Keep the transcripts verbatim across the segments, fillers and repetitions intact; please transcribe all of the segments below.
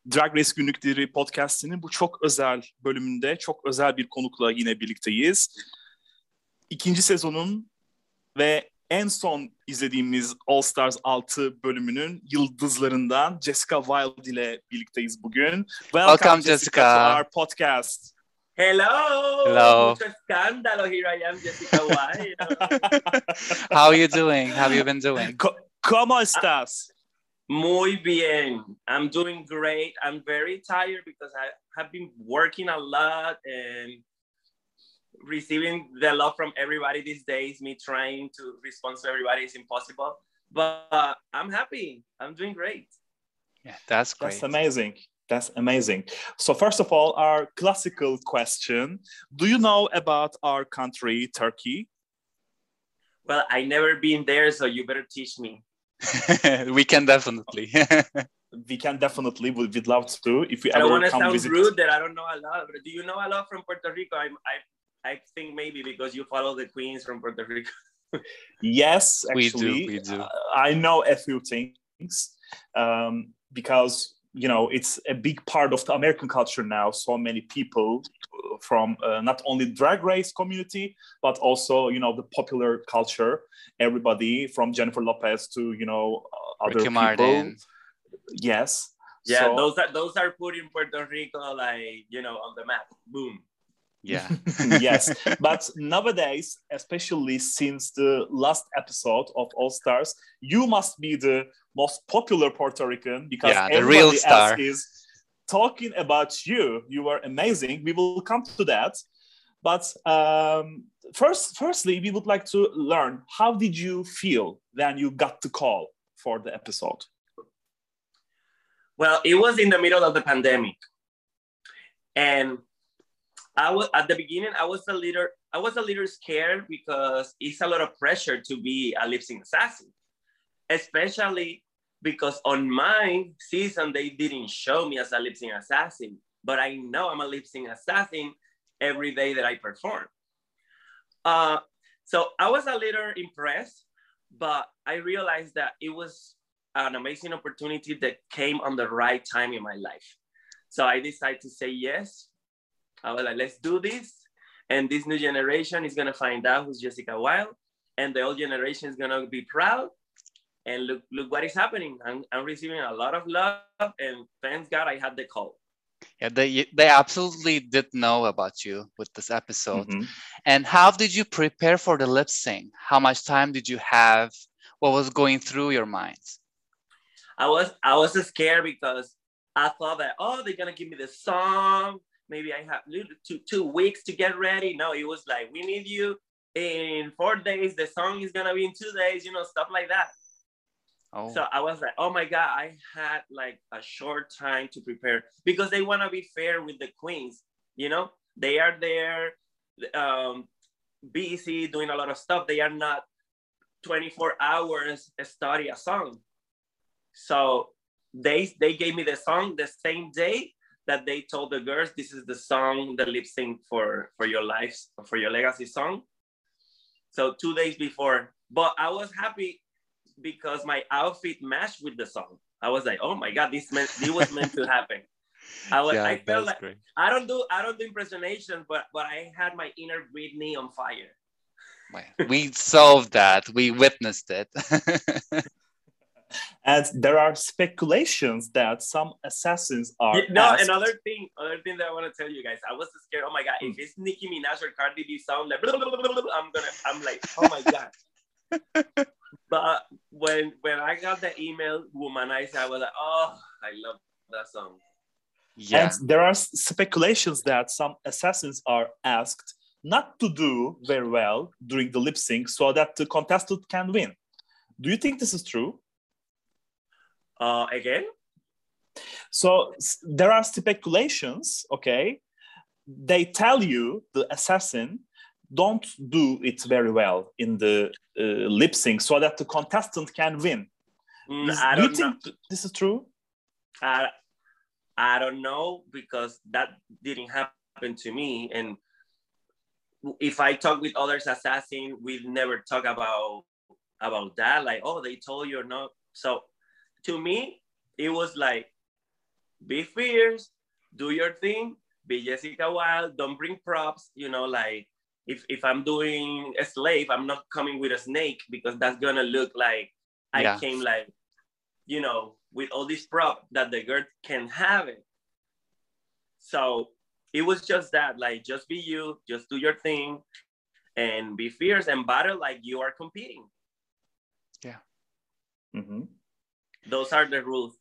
Drag Race Günlükleri podcast'inin bu çok özel bölümünde çok özel bir konukla yine birlikteyiz. İkinci sezonun ve en son izlediğimiz All Stars altı bölümünün yıldızlarından Jessica Wilde ile birlikteyiz bugün. Welcome, Welcome Jessica, Jessica, to our podcast. Hello! Hello. Mucho escándalo. Here I am, Jessica Wilde. How are you doing? How have you been doing? Co- ¿Cómo estás? Muy bien. I'm doing great. I'm very tired because I have been working a lot and receiving the love from everybody these days. Me trying to respond to everybody is impossible. But uh, I'm happy. I'm doing great. Yeah, that's great. That's amazing. That's amazing. So first of all, our classical question. Do you know about our country, Turkey? Well, I never been there, so you better teach me. We can definitely. We can definitely. We'd love to. If we I don't ever want to come sound visit. rude that I don't know a lot, but do you know a lot from Puerto Rico? I, I, I think maybe because you follow the queens from Puerto Rico. Yes, We actually. do, we do. Uh, I know a few things um, because, you know, it's a big part of the American culture now. So many people from uh, not only drag race community, but also, you know, the popular culture. Everybody from Jennifer Lopez to, you know, uh, other Ricky people. Martin. Yes. Yeah, So- those are those are putting Puerto Rico like, you know, on the map. Boom. Yeah. Yes, but nowadays, especially since the last episode of All Stars, you must be the most popular Puerto Rican because Yeah, the everybody real else star. is talking about you. You are amazing. We will come to that. But um, first, firstly, we would like to learn, how did you feel when you got the call for the episode? Well, it was in the middle of the pandemic. And I was at the beginning, I was a little, I was a little scared because it's a lot of pressure to be a lip sync assassin, especially because on my season, they didn't show me as a lip sync assassin, but I know I'm a lip sync assassin every day that I perform. Uh, so I was a little impressed, but I realized that it was an amazing opportunity that came on the right time in my life. So I decided to say yes. I was like, let's do this. And this new generation is going to find out who's Jessica Wilde. And the old generation is going to be proud. And look, look what is happening. I'm, I'm receiving a lot of love. And thanks God I had the call. Yeah, they they absolutely did know about you with this episode. Mhm. And how did you prepare for the lip sync? How much time did you have? What was going through your mind? I was I was scared because I thought that, oh, they're going to give me the song. Maybe I have two, two weeks to get ready. No, it was like, we need you in four days. The song is going to be in two days, you know, stuff like that. Oh, So I was like, oh my God, I had like a short time to prepare because they want to be fair with the queens. You know, they are there um, busy doing a lot of stuff. They are not twenty-four hours study a song. So they, they gave me the song the same day that they told the girls, this is the song, the lip sync for, for your lives, for your legacy song. So two days before, but I was happy because my outfit matched with the song. I was like, oh my God, this meant, this was meant to happen. I was, yeah, I felt that's like, great. I don't do, I don't do impersonations, but, but I had my inner Britney on fire. Well, we solved that. We witnessed it. And there are speculations that some assassins are You- no, asked- another thing, another thing that I want to tell you guys, I was scared. Oh my God, if it's Nicki Minaj or Cardi B sound like, blah, blah, blah, blah, blah, I'm gonna, I'm like, oh my God. But when when I got the email, Womanizer, I was like, oh, I love that song. Yeah. And there are s- speculations that some assassins are asked not to do very well during the lip sync so that the contestant can win. Do you think this is true? Uh, again? So s- there are speculations, okay? They tell you, the assassin, don't do it very well in the uh, lip sync so that the contestant can win. Mm, Is- I do you don't know. think th- this is true? I, I don't know because that didn't happen to me. And if I talk with others assassin, we never talk about about that. Like, oh, they told you or not. So to me, it was like be fierce, do your thing, be Jessica Wilde, don't bring props, you know, like if, if I'm doing a slave, I'm not coming with a snake because that's gonna look like I Yeah. came like, you know, with all this prop that the girl can have it. So it was just that, like, just be you, just do your thing and be fierce and battle like you are competing. Yeah. Mm-hmm. Those are the rules.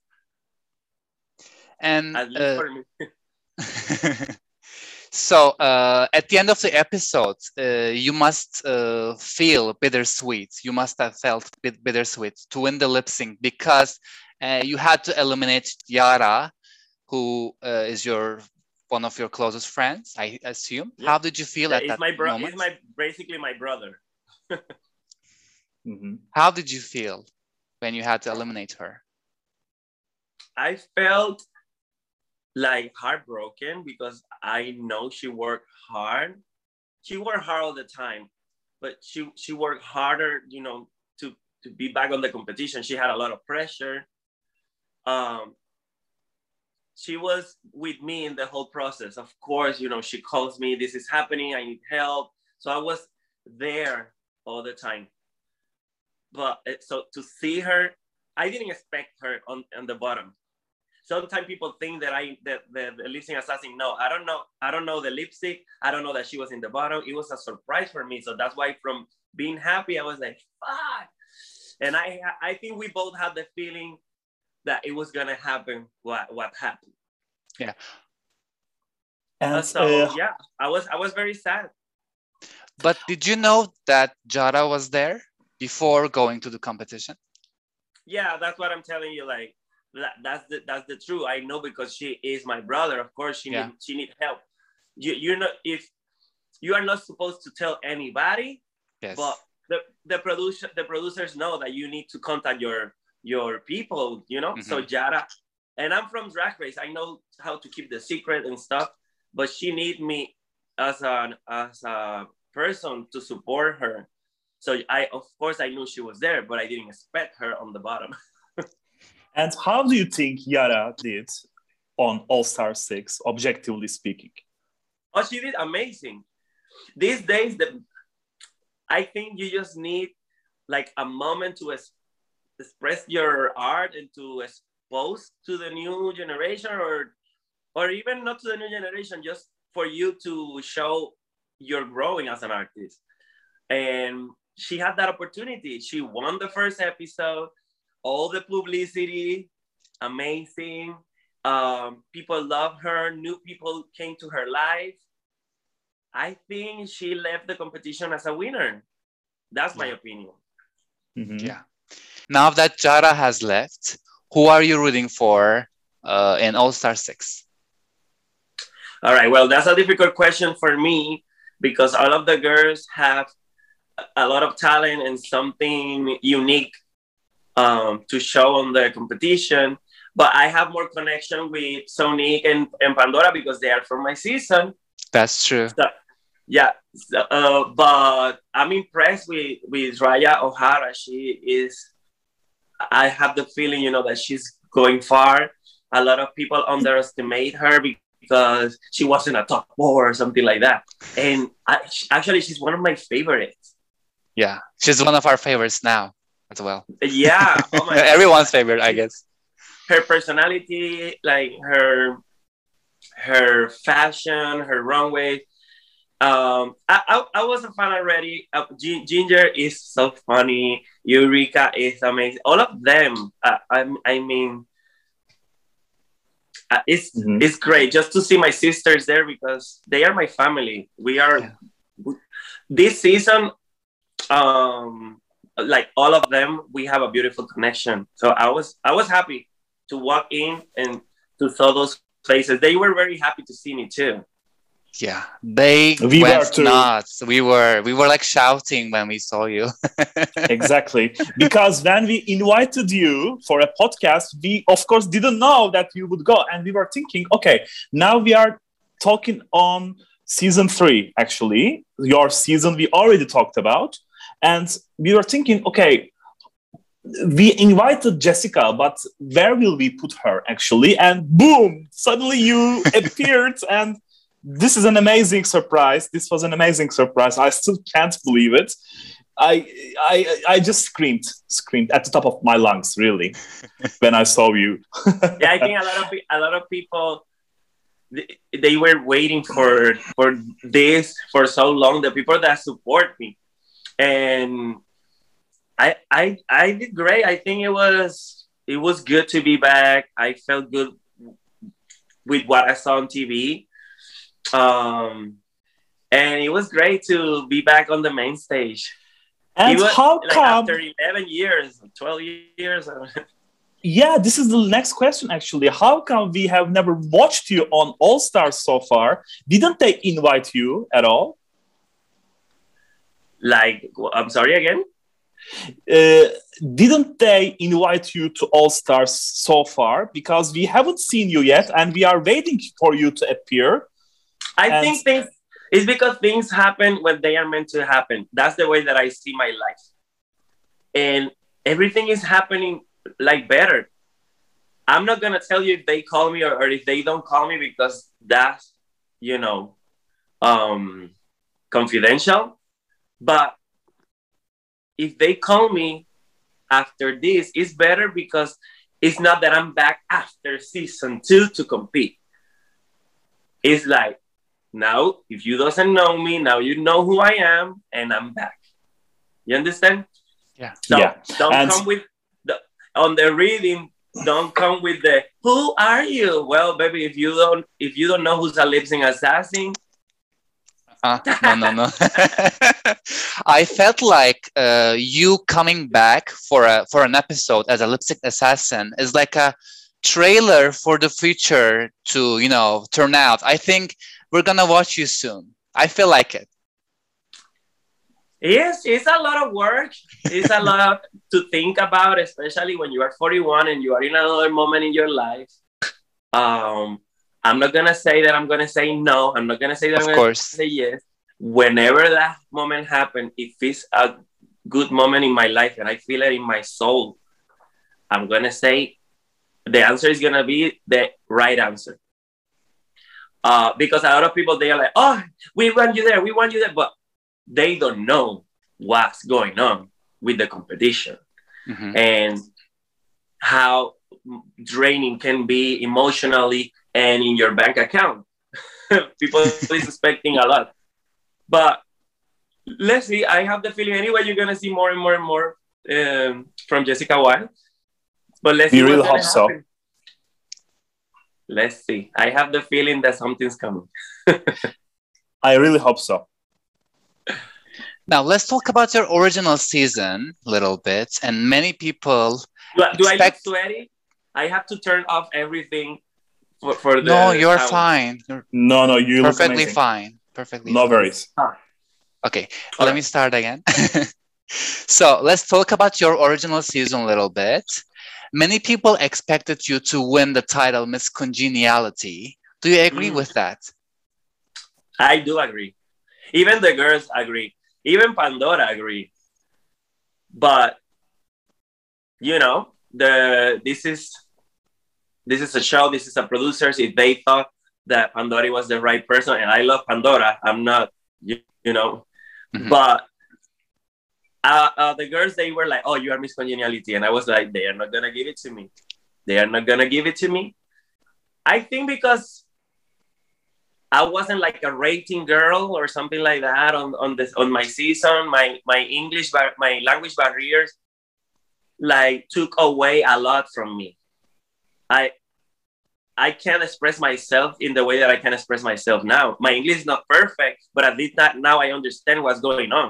And At least uh, for me. so uh, at the end of the episode, uh, you must uh, feel bittersweet. You must have felt bit bittersweet to win the lip sync because uh, you had to eliminate Yara, who uh, is your one of your closest friends, I assume. Yeah. How did you feel yeah, at it's that my bro- moment? It's my basically my brother. Mm-hmm. How did you feel when you had to eliminate her? I felt like heartbroken because I know she worked hard. She worked hard all the time, but she she worked harder, you know, to to be back on the competition. She had a lot of pressure. Um, she was with me in the whole process. Of course, you know, she calls me, this is happening, I need help. So I was there all the time. But so to see her, I didn't expect her on, on the bottom. Sometimes people think that I that the, the lip sync assassin. No, I don't know. I don't know the lip sync. I don't know that she was in the bottom. It was a surprise for me. So that's why from being happy, I was like, fuck. And I I think we both had the feeling that it was gonna happen what, what happened. Yeah. And so uh, yeah, I was I was very sad. But did you know that Yara was there before going to the competition? Yeah, that's what I'm telling you. Like that, that's the that's the truth. I know because she is my brother. Of course, she yeah. need she need help. You you're not if you are not supposed to tell anybody. Yes. But the the producer the producers know that you need to contact your your people. You know. Mm-hmm. So Yara, and I'm from Drag Race. I know how to keep the secret and stuff. But she need me as an as a person to support her. So I, of course, I knew she was there, but I didn't expect her on the bottom. And how do you think Yara did on All-Star six, objectively speaking? Oh, she did amazing. These days, the, I think you just need like a moment to es- express your art and to expose to the new generation, or, or even not to the new generation, just for you to show you're growing as an artist. And she had that opportunity. She won the first episode, all the publicity, amazing. Um, people love her. New people came to her life. I think she left the competition as a winner. That's my opinion. Mm-hmm. Yeah. Now that Yara has left, who are you rooting for uh, in All-Star six? All right. Well, that's a difficult question for me because all of the girls have a lot of talent and something unique um, to show on the competition. But I have more connection with Sonique and, and Pandora because they are from my season. That's true. So, yeah. So, uh, but I'm impressed with, with Raya O'Hara. She is, I have the feeling, you know, that she's going far. A lot of people underestimate her because she wasn't a top four or something like that. And I, actually, she's one of my favorites. Yeah, she's one of our favorites now as well. Yeah. Oh my Everyone's favorite, I guess. Her personality, like her her fashion, her runway. Um, I, I, I was a fan already. Uh, Ginger is so funny. Eureka is amazing. All of them. Uh, I, I mean, uh, it's mm-hmm. it's great just to see my sisters there because they are my family. We are yeah. This season. Um, like all of them, we have a beautiful connection. So I was I was happy to walk in and to saw those faces. They were very happy to see me too. Yeah, they we went nuts. We were we were like shouting when we saw you. Exactly, because when we invited you for a podcast, we of course didn't know that you would go, and we were thinking, okay, now we are talking on season three. Actually, your season we already talked about. And we were thinking, okay, we invited Jessica, but where will we put her actually? And boom, suddenly you appeared, and this is an amazing surprise. This was an amazing surprise. I still can't believe it. I I I just screamed, screamed at the top of my lungs, really, when I saw you. Yeah, I think a lot of a lot of people they, they were waiting for for this for so long. The people that support me, and I I I did great. I think it was it was good to be back. I felt good with what I saw on T V, um, and it was great to be back on the main stage. And was, how like, come after eleven years, twelve years? Yeah, this is the next question actually. How come we have never watched you on All Stars so far? Didn't they invite you at all? Like, I'm sorry again? Uh, didn't they invite you to All Stars so far? Because we haven't seen you yet and we are waiting for you to appear. I and think things, it's because things happen when they are meant to happen. That's the way that I see my life. And everything is happening like better. I'm not going to tell you if they call me or, or if they don't call me, because that's, you know, um, confidential. But if they call me after this, it's better because it's not that I'm back after season two to compete. It's like, now, if you doesn't know me, now you know who I am, and I'm back. You understand? Yeah. So yeah. don't and come with the on the reading. Don't come with the "Who are you?" Well, baby, if you don't if you don't know who's a lip sync assassin, uh, no, no, no. I felt like uh, you coming back for a for an episode as a lip sync assassin is like a trailer for the future to, you know, turn out. I think we're gonna watch you soon. I feel like it. Yes, it's a lot of work. It's a lot to think about, especially when you are forty-one and you are in another moment in your life. Um, I'm not gonna say that I'm gonna say no. I'm not gonna say that Of I'm gonna course. say yes. Whenever that moment happens, if it's a good moment in my life and I feel it in my soul, I'm gonna say the answer is gonna be the right answer. Uh, because a lot of people, they are like, oh, we want you there, we want you there, but they don't know what's going on with the competition mm-hmm. and how draining can be emotionally and in your bank account. People is expecting a lot. But let's see, I have the feeling anyway, you're going to see more and more and more um, from Jessica Wild. But let's we see really what's hope gonna so. happen. Let's see. I have the feeling that something's coming. I really hope so. Now, let's talk about your original season a little bit. And many people Do, I- do expect... I look sweaty? I have to turn off everything for, for the... No, you're sound. fine. You're No, no, you look perfectly amazing. fine. Perfectly No fine. worries. Ah. Okay, All let right. me start again. So let's talk about your original season a little bit. Many people expected you to win the title Miss Congeniality. Do you agree Mm. with that? I do agree. Even the girls agree. Even Pandora agree. But you know, the this is this is a show. This is a producers. If they thought that Pandora was the right person, and I love Pandora, I'm not. You, you know, Mm-hmm. but uh, uh, the girls, they were like, "Oh, you are Miss Congeniality," and I was like, "They are not gonna give it to me. They are not gonna give it to me." I think because I wasn't like a rating girl or something like that on, on this on my season. My my English bar, my language barriers like took away a lot from me. I I can't express myself in the way that I can express myself now. My English is not perfect, but at least not now I understand what's going on.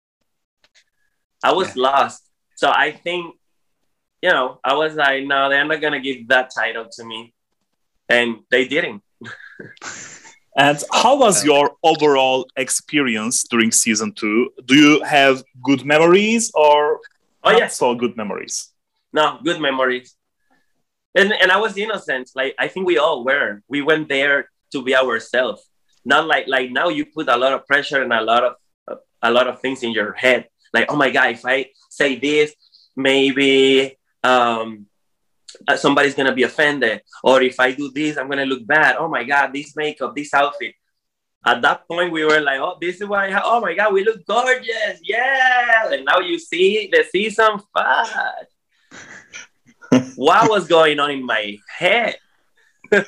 I was yeah. lost. So I think, you know, I was like, no, they're not gonna give that title to me. And they didn't. And how was your overall experience during season two? Do you have good memories or oh, not yeah. so good memories? No, good memories. And and I was innocent. Like, I think we all were. We went there to be ourselves. Not like like now you put a lot of pressure and a lot of uh, a lot of things in your head. Like, oh my God, if I say this, maybe um, uh, somebody's gonna be offended, or if I do this, I'm gonna look bad. Oh my God, this makeup, this outfit. At that point, we were like, oh, this is why, I oh my God, we look gorgeous. Yeah. And now you see the season five. What was going on in my head? but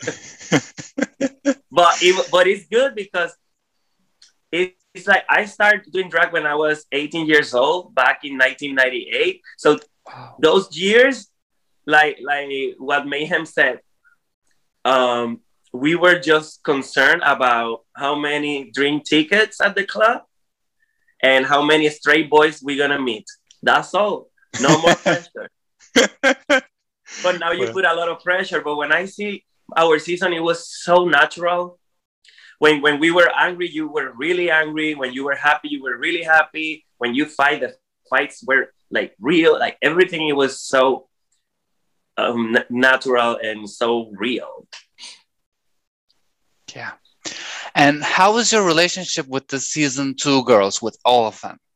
it, but it's good because it, it's like I started doing drag when I was eighteen years old back in nineteen ninety-eight. So wow. Those years, like like what Mayhem said, um, we were just concerned about how many drink tickets at the club and how many straight boys we're gonna meet. That's all. No more pressure. But now you put a lot of pressure. But when I see our season, it was so natural. When when we were angry, you were really angry. When you were happy, you were really happy. When you fight, the fights were like real. Like everything, it was so um, natural and so real. Yeah. And how was your relationship with the season two girls, with all of them?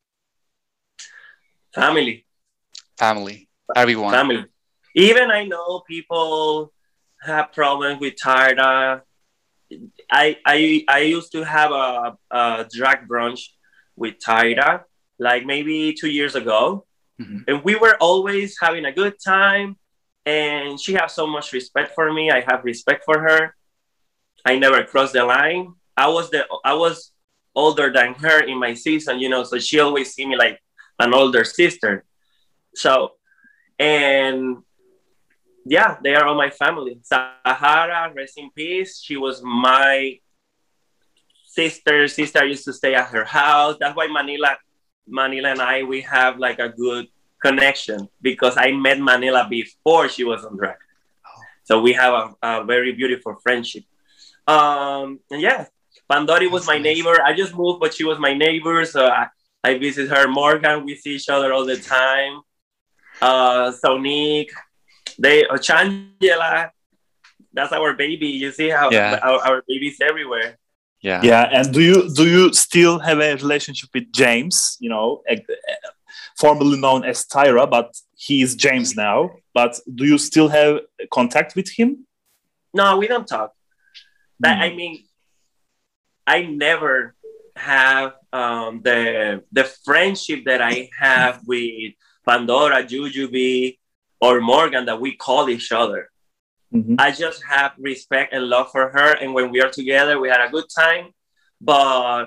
Family. Family. Everyone. Family. Even I know people have problems with Tyra. I I I used to have a, a drag brunch with Tyra, like maybe two years ago. Mm-hmm. And we were always having a good time. And she has so much respect for me. I have respect for her. I never crossed the line. I was the I was older than her in my season, you know, so she always see me like an older sister. So, and yeah, they are all my family. Sahara, rest in peace. She was my sister. Sister used to stay at her house. That's why Manila, Manila and I, we have like a good connection because I met Manila before she was on drag. Oh. So we have a, a very beautiful friendship. Um, and yeah, Pandori was my neighbor. I just moved, but she was my neighbor. So I, I visit her. Morgan, we see each other all the time. Uh, Sonique, they, uh, Changela, that's our baby. You see how yeah. our, our baby's everywhere. Yeah. Yeah. And do you, do you still have a relationship with James, you know, formerly known as Tyra, but he is James now, but do you still have contact with him? No, we don't talk. But, I mean, I never have um, the the friendship that I have with Pandora, Jujubee, or Morgan that we call each other. Mm-hmm. I just have respect and love for her. And when we are together, we had a good time. But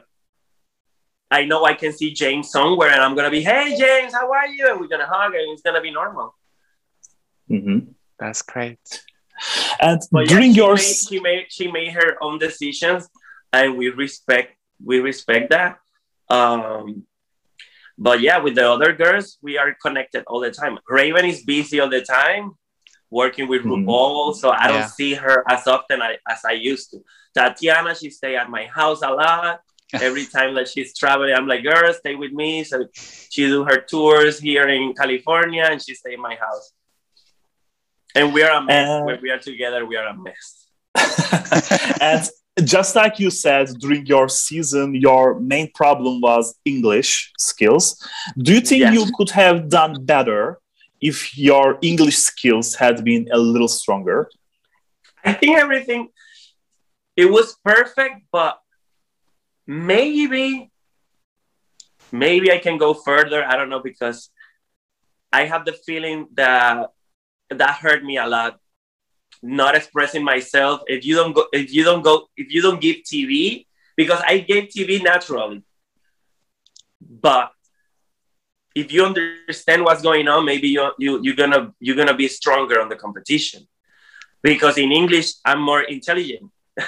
I know I can see James somewhere and I'm going to be, hey, James, how are you? And we're going to hug and it's going to be normal. Mm-hmm. That's great. And but during yeah, she your made, she made she made her own decisions, and we respect we respect that. Um, but yeah, with the other girls, we are connected all the time. Raven is busy all the time, working with mm-hmm. RuPaul, so I don't yeah. see her as often as I used to. Tatiana, she stay at my house a lot. Every time that she's traveling, I'm like, girl, stay with me. So she do her tours here in California, and she stay in my house. And we are a mess. Uh, when we are together, we are a mess. And just like you said, during your season, your main problem was English skills. Do you think yes. you could have done better if your English skills had been a little stronger? I think everything, it was perfect, but maybe, maybe I can go further. I don't know, because I have the feeling that that hurt me a lot, not expressing myself. If you don't go, if you don't go, if you don't give T V, because I gave T V naturally, but if you understand what's going on, maybe you you you're gonna you're gonna be stronger on the competition. Because in English, I'm more intelligent.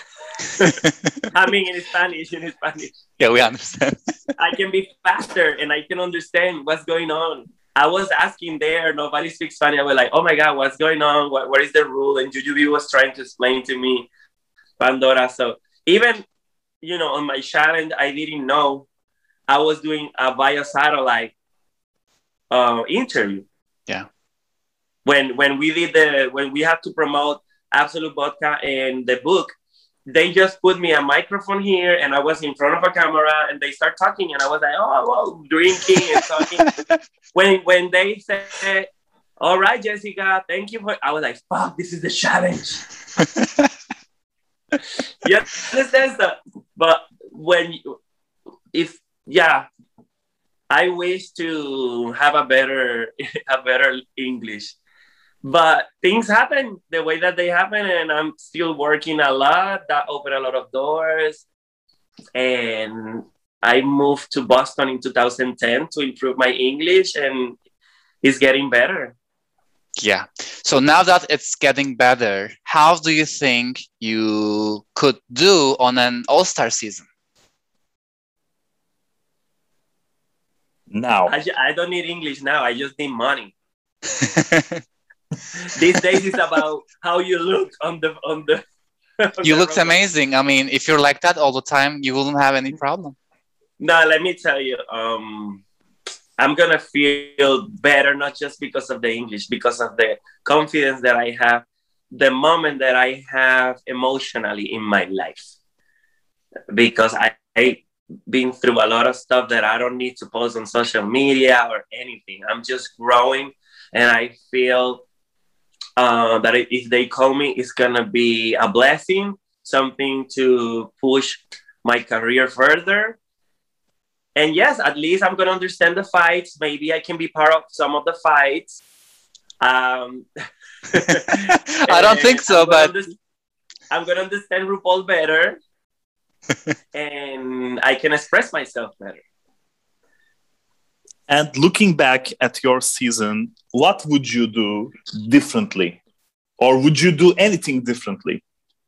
I mean, in Spanish, in Spanish. Yeah, we understand. I can be faster and I can understand what's going on. I was asking there, nobody speaks Spanish. I was like, oh my God, what's going on? What, what is the rule? And Jujubee was trying to explain to me, Pandora. So even, you know, on my challenge, I didn't know I was doing a biosatellite uh, interview. Yeah. When when we did the, when we had to promote Absolute Vodka and the book, they just put me a microphone here and I was in front of a camera and they start talking and I was like, oh, wow, drinking and talking. when when they said All right, Jessica, thank you for. I was like, fuck, this is the challenge. You understand that? But when, you, if yeah, I wish to have a better, a better English, but things happen the way that they happen, and I'm still working a lot. That opened a lot of doors, and I moved to Boston in two thousand ten to improve my English, and it's getting better. Yeah. So now that it's getting better, how do you think you could do on an all-star season? Now, I, I don't need English now. I just need money. These days it's about how you look on the on the. On You the looked runway. amazing. I mean, if you're like that all the time, you wouldn't have any problem. No, let me tell you. Um, I'm gonna feel better not just because of the English, because of the confidence that I have, the moment that I have emotionally in my life. Because I, I've been through a lot of stuff that I don't need to post on social media or anything. I'm just growing, and I feel uh, that if they call me, it's gonna be a blessing, something to push my career further. And yes, at least I'm gonna understand the fights. Maybe I can be part of some of the fights. Um, I don't think so, I'm gonna but under- I'm gonna understand RuPaul better, and I can express myself better. and looking back at your season, what would you do differently? Or would you do anything differently?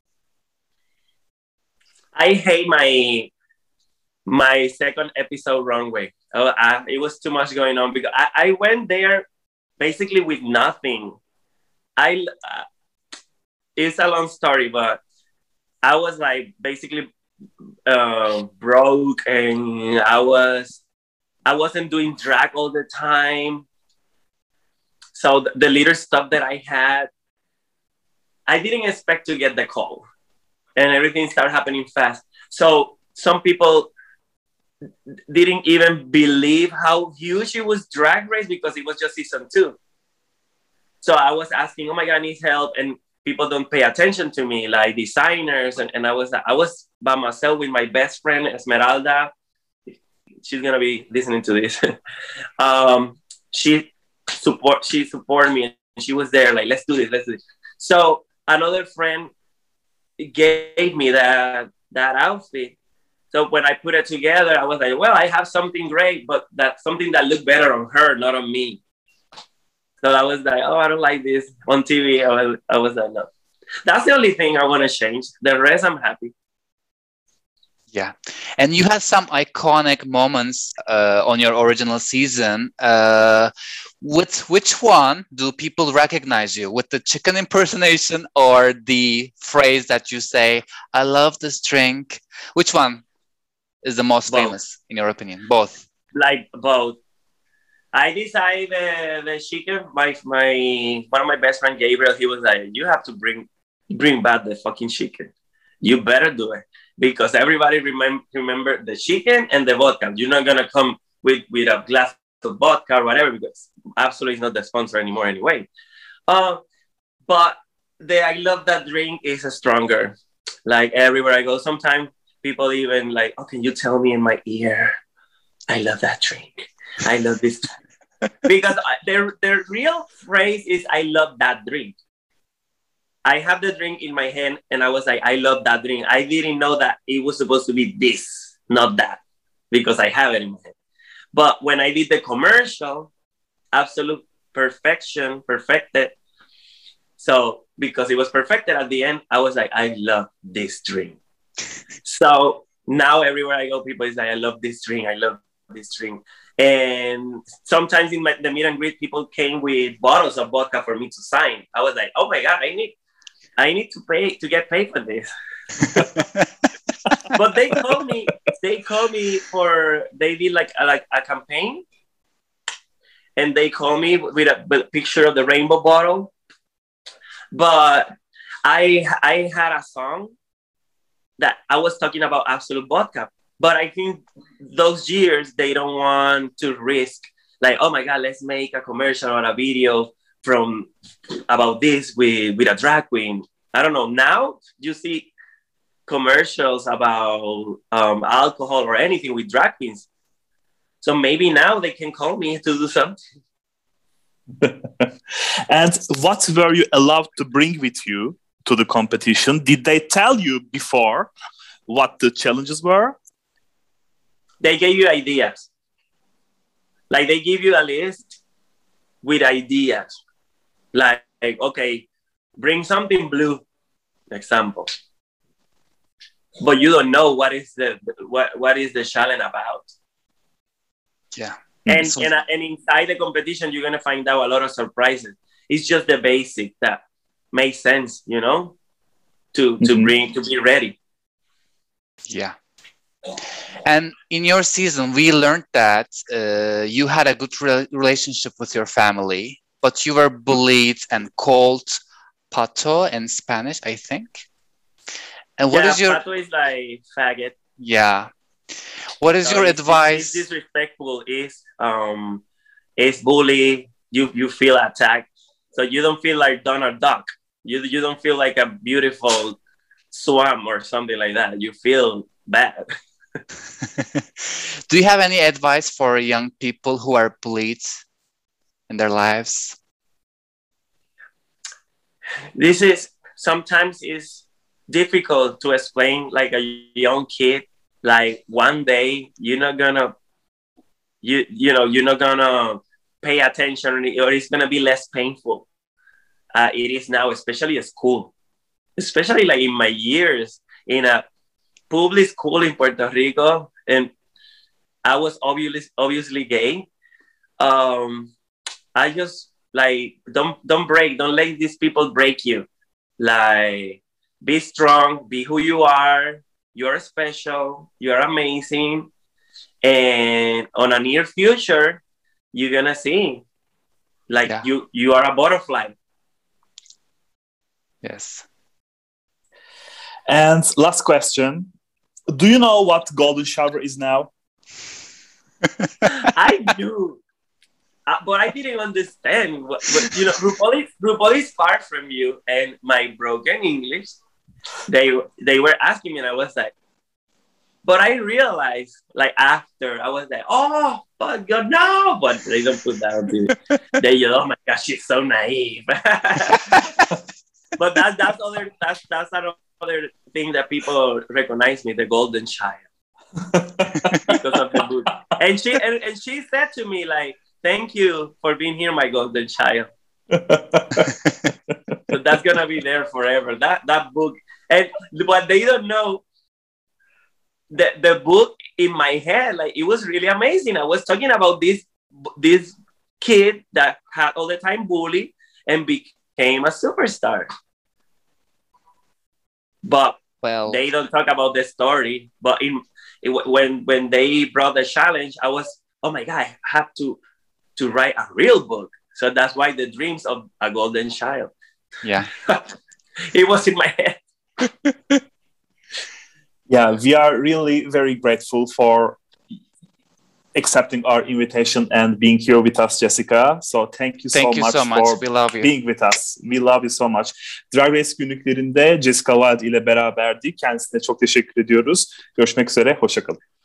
I hate my my second episode wrong way. Oh, I, it was too much going on because I, I went there basically with nothing. I uh, it's a long story, but I was like basically uh, broke, and I was I wasn't doing drag all the time. So the, the little stuff that I had, I didn't expect to get the call, and everything started happening fast. So some people didn't even believe how huge it was Drag Race because it was just season two. So I was asking, oh my God, I need help. And people don't pay attention to me, like designers. And, and I was I was by myself with my best friend, Esmeralda. She's going to be listening to this. um, she support she supported me, and she was there like, let's do this, let's do this. So another friend gave me that, that outfit. So when I put it together, I was like, well, I have something great, but that something that looked better on her, not on me. So I was like, oh, I don't like this on T V. I was, I was like, no. That's the only thing I want to change. The rest, I'm happy. yeah. And you had some iconic moments uh, on your original season. Uh, with which one do people recognize you? With the chicken impersonation or the phrase that you say, I love this drink? Which one is the most Both. famous, in your opinion? Both. Like both. I decided uh, the chicken. My my one of my best friend Gabriel. He was like, "You have to bring bring back the fucking chicken. You better do it because everybody remember remember the chicken and the vodka. You're not gonna come with with a glass of vodka or whatever because Absolutely is not the sponsor anymore anyway. Uh, but the I love that drink is stronger. Like everywhere I go, sometimes people even like, "Oh, can you tell me in my ear? I love that drink. I love this." Because their their real phrase is "I love that drink." I have the drink in my hand, and I was like, "I love that drink." I didn't know that it was supposed to be this, not that, because I have it in my hand. But when I did the commercial, Absolute perfection, perfected. So because it was perfected at the end, I was like, "I love this drink." So now everywhere I go, people is like, "I love this drink. I love this drink." And sometimes in my, the meet and greet, people came with bottles of vodka for me to sign. I was like, "Oh my God, I need, I need to pay to get paid for this." But they called me. They called me for. They did like a, like a campaign, and they called me with a, with a picture of the rainbow bottle. But I I had a song that I was talking about Absolute vodka. But I think those years, they don't want to risk, like, oh my God, let's make a commercial or a video from about this with, with a drag queen. I don't know. Now you see commercials about um, alcohol or anything with drag queens. So maybe now they can call me to do something. And what were you allowed to bring with you to the competition? Did they tell you before what the challenges were? They gave you ideas. Like they give you a list with ideas. Like, like okay, bring something blue, example. But you don't know what is the what, what is the challenge about. Yeah. And, So- and and inside the competition, you're gonna find out a lot of surprises. It's just the basic that makes sense, you know, to to Mhm. bring to be ready. Yeah. And in your season, we learned that uh, you had a good re- relationship with your family, but you were bullied and called pato in Spanish, I think. And what yeah, is your pato is like faggot. yeah? What is So your it's, advice? It's disrespectful. Is um, is bully. You you feel attacked, so you don't feel like Donald Duck. You you don't feel like a beautiful swam or something like that. You feel bad. Do you have any advice for young people who are bullied in their lives? This is sometimes is difficult to explain like a young kid. Like one day you're not gonna you you know you're not gonna pay attention, or it's gonna be less painful. Uh, it is now, especially at school, especially like in my years in a public school in Puerto Rico, and I was obviously obviously gay. Um, I just like don't don't break, don't let these people break you. Like be strong, be who you are. You're special. You're amazing. And on a near future, you're gonna see, like Yeah. you you are a butterfly. Yes. And last question. Do you know what golden shower is now? I do, uh, but I didn't understand. What, what, you know, RuPaul is, RuPaul is far from you, and my broken English. They they were asking me, and I was like, but I realized, like after, I was like, oh, but God, no, but they don't put that on the. They, oh my gosh, she's so naive. But that's that's other that's that's another thing that people recognize me, the golden child, because of the book. And she and, and she said to me like, "Thank you for being here, my golden child." So that's gonna be there forever. That that book, and what they don't know, the the book in my head, like it was really amazing. I was talking about this this kid that had all the time bully and became a superstar. But Well, they don't talk about the story. But in it, when when they brought the challenge, I was, oh my god, I have to to write a real book. So that's why the dreams of a golden child. yeah. It was in my head. Yeah, we are really very grateful for accepting our invitation and being here with us, Jessica. So thank you Thank so you much so much. for We love you. being with us. We love you so much. Drag Race günlüklerinde Jessica Wild ile beraberdik. Kendisine çok teşekkür ediyoruz. Görüşmek üzere. Hoşça kalın.